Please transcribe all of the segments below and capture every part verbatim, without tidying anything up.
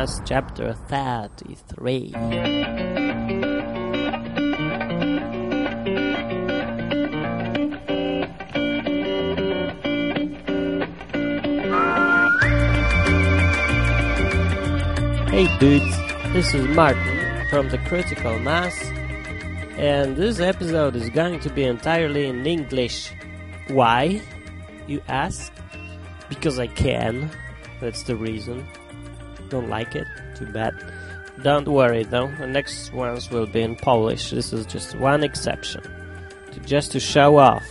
Mass, chapter thirty-three. Hey dudes, this is Martin from the Critical Mass, and this episode is going to be entirely in English. Why, you ask? Because I can. That's the reason. Don't like it? Too bad. Don't worry though, the next ones will be in Polish. This is just one exception. To, just to show off.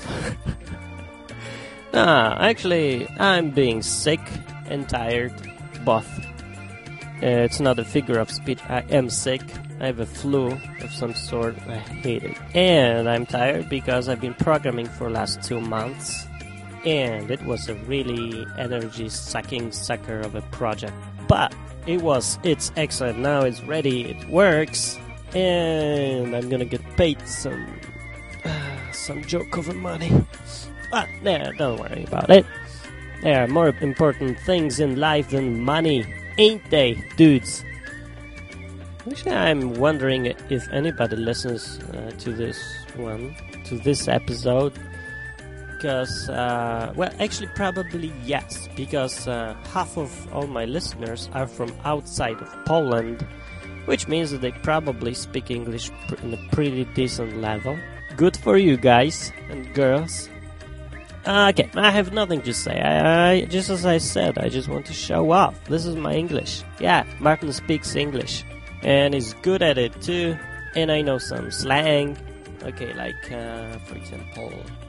ah, actually, I'm being sick and tired. Both. Uh, it's not a figure of speech. I am sick. I have a flu of some sort. I hate it. And I'm tired because I've been programming for the last two months. And it was a really energy-sucking sucker of a project. But it was, it's excellent. Now it's ready. It works. And I'm gonna get paid some, uh, some joke over money. But, nah, don't worry about it. There are more important things in life than money. Ain't they, dudes? Actually, I'm wondering if anybody listens uh, to this one, to this episode. Because, uh, well, actually, probably yes. Because uh, half of all my listeners are from outside of Poland, which means that they probably speak English pr- in a pretty decent level. Good for you guys and girls. Okay, I have nothing to say. I, I just as I said, I just want to show off. This is my English. Yeah, Martin speaks English, and he's good at it too. And I know some slang. Okay, like uh, for example,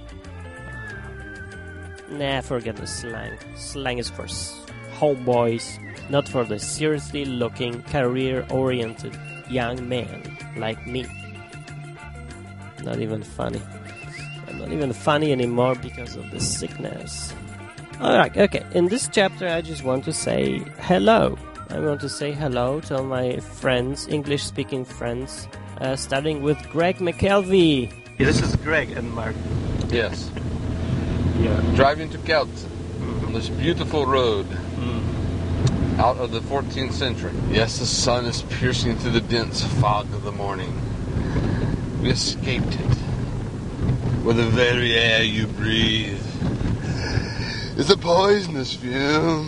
uh, nah, forget the slang. Slang is for s- homeboys, not for the seriously looking, career-oriented young man like me. Not even funny. I'm not even funny anymore because of the sickness. Alright, okay. In this chapter, I just want to say hello. I want to say hello to all my friends, English-speaking friends, uh, starting with Greg McKelvey. Yeah, this is Greg and Mark. Yes. Yeah. Driving to Kelt mm-hmm. on this beautiful road mm. out of the fourteenth century. Yes, the sun is piercing through the dense fog of the morning. We escaped it. Where the very air you breathe is a poisonous fume.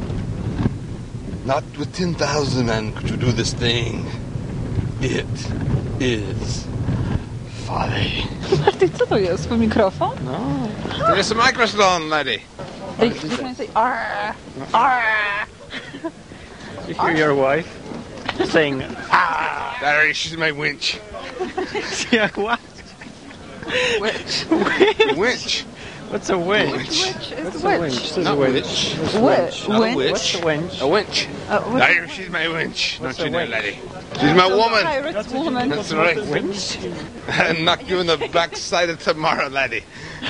Not with ten thousand men could you do this thing. It is folly. Marty, co to jest? Twój mikrofon? No. There's a microphone, lady. They, they can say, arr, arr. You hear your wife saying, ah. There, she's my winch. Yeah, what? Witch. Winch. What's a winch? Witch is What's witch. a winch? Not winch. witch. Witch. Not a Winch. witch. What's a winch? A winch. Uh, There, she's my winch. What's Don't a you know, winch? lady? She's my woman. Pirate woman. That's right. Winch? I'll knock you in the backside of tomorrow, laddie.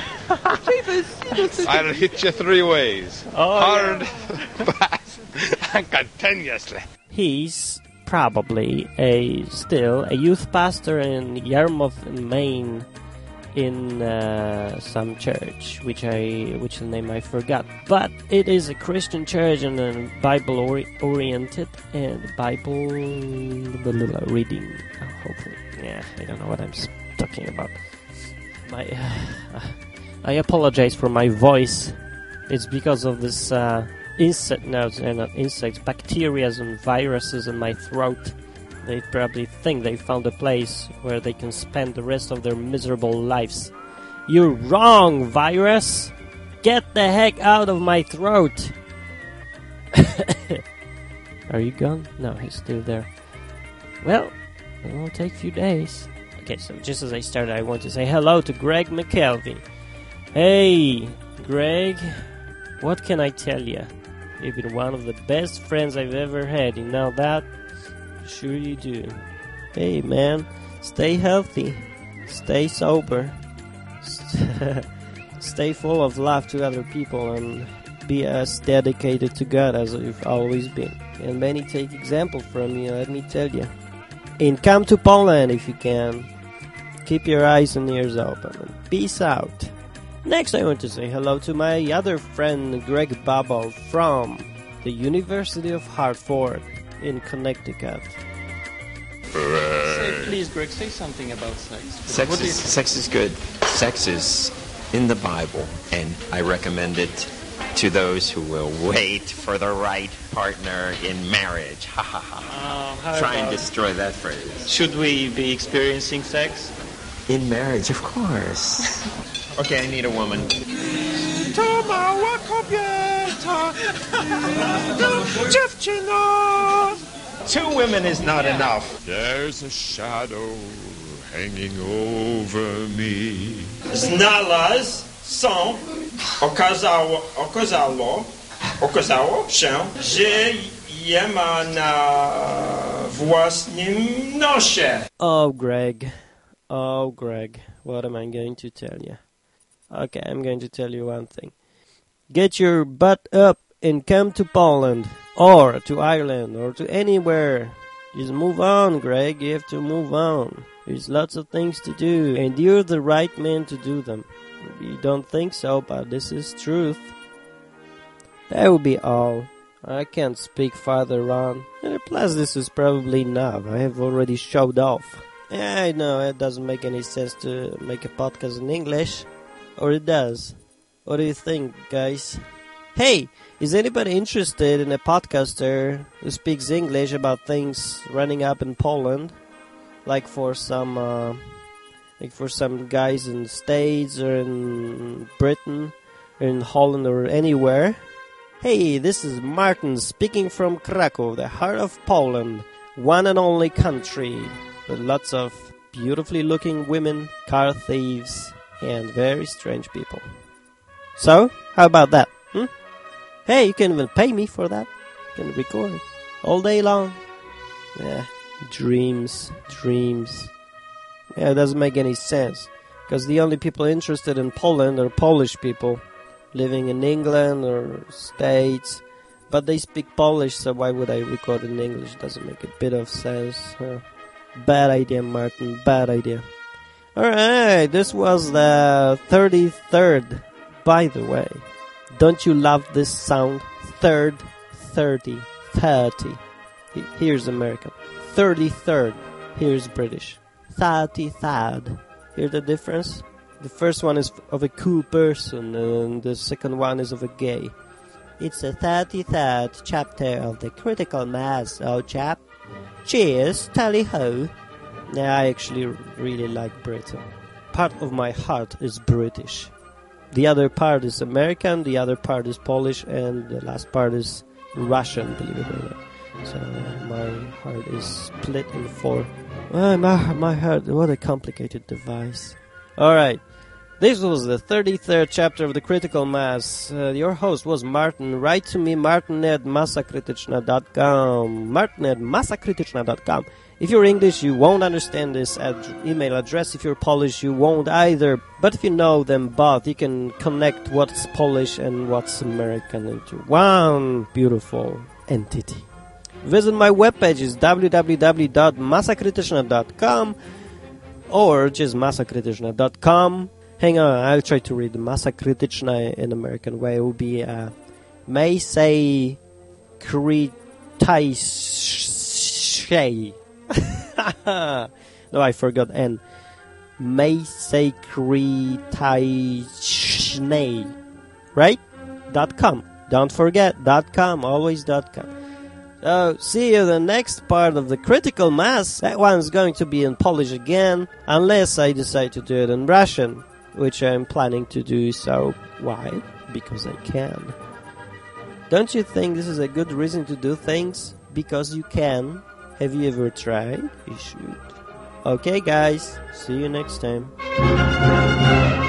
I'll hit you three ways. Oh, Hard, yeah. fast, and continuously. He's probably a still a youth pastor in Yarmouth, Maine, in uh, some church, which I which the name I forgot. But it is a Christian church and a Bible ori- oriented and Bible reading. Uh, hopefully, yeah, I don't know what I'm talking about. My, uh, I apologize for my voice. It's because of this uh, insect, no, they're not insects, bacteria and viruses in my throat. They probably think they found a place where they can spend the rest of their miserable lives. You're wrong, virus! Get the heck out of my throat! Are you gone? No, he's still there. Well, it will take a few days. Okay, so just as I started, I want to say hello to Greg McKelvey. Hey, Greg, what can I tell you? You've been one of the best friends I've ever had, you know that? Sure you do. Hey man, stay healthy, stay sober, st- stay full of love to other people, and be as dedicated to God as you've always been. And many take example from you, let me tell you. And come to Poland if you can. Keep your eyes and ears open, and peace out. Next I want to say hello to my other friend Greg Bubble from the University of Hartford. in Connecticut. Say, please, Greg, say something about sex. Sex What do is, you- sex is good. Sex is in the Bible, and I recommend it to those who will wait for the right partner in marriage. Ha ha ha. Uh, how Try and about- destroy that phrase. Should we be experiencing sex? In marriage, of course. Okay, I need a woman. Two women is not enough. There's a shadow hanging over me. Znalazł są, okazało, okazało, okazało się, że je ma na własnym nosie. Oh, Greg. Oh, Greg. What am I going to tell you? Okay, I'm going to tell you one thing. Get your butt up and come to Poland, or to Ireland, or to anywhere. Just move on, Greg. You have to move on. There's lots of things to do, and you're the right man to do them. You don't think so, but this is truth. That will be all. I can't speak farther on. And plus, this is probably enough. I have already showed off. I know it doesn't make any sense to make a podcast in English. Or it does. What do you think, guys? Hey, is anybody interested in a podcaster who speaks English about things running up in Poland? Like for some, uh, like for some guys in the States or in Britain or in Holland or anywhere? Hey, this is Martin speaking from Krakow, the heart of Poland, one and only country with lots of beautifully looking women, car thieves, and very strange people. So, how about that? Hmm? Hey, you can even pay me for that. You can record all day long. Yeah, dreams, dreams. Yeah, it doesn't make any sense. Because the only people interested in Poland are Polish people living in England or States. But they speak Polish, so why would I record in English? Doesn't make a bit of sense. Huh? Bad idea, Martin. Bad idea. Alright, this was the thirty-third. By the way, don't you love this sound? Third, thirty, thirty. Here's American. thirty-third. Here's British. thirty-third. Hear the difference? The first one is of a cool person, and the second one is of a gay. It's the thirty-third chapter of the Critical Mass, old chap. Cheers, tally-ho. Yeah, I actually really like Britain. Part of my heart is British. The other part is American, the other part is Polish, and the last part is Russian, believe it or not. So my heart is split in four. Oh, my, my heart, what a complicated device. Alright, this was the thirty-third chapter of the Critical Mass. Uh, your host was Martin. Write to me, martin at masakrytyczna dot com. Martin at masakrytyczna dot com. If you're English, you won't understand this ad- email address. If you're Polish, you won't either. But if you know them both, you can connect what's Polish and what's American into one beautiful entity. Visit my webpage, is w w w dot masakrytyczna dot com or just masakrytyczna dot com. Hang on, I'll try to read Masakrytyczna in American way. It will be uh, Masakrytyczna. No, I forgot N. Masakrytyczna. Right? Dot com. Don't forget, dot com, always dot com. So, see you in the next part of the Critical Mass. That one's going to be in Polish again, unless I decide to do it in Russian, which I'm planning to do so. Why? Because I can. Don't you think this is a good reason to do things? Because you can. Have you ever tried? You should. Okay, guys. See you next time.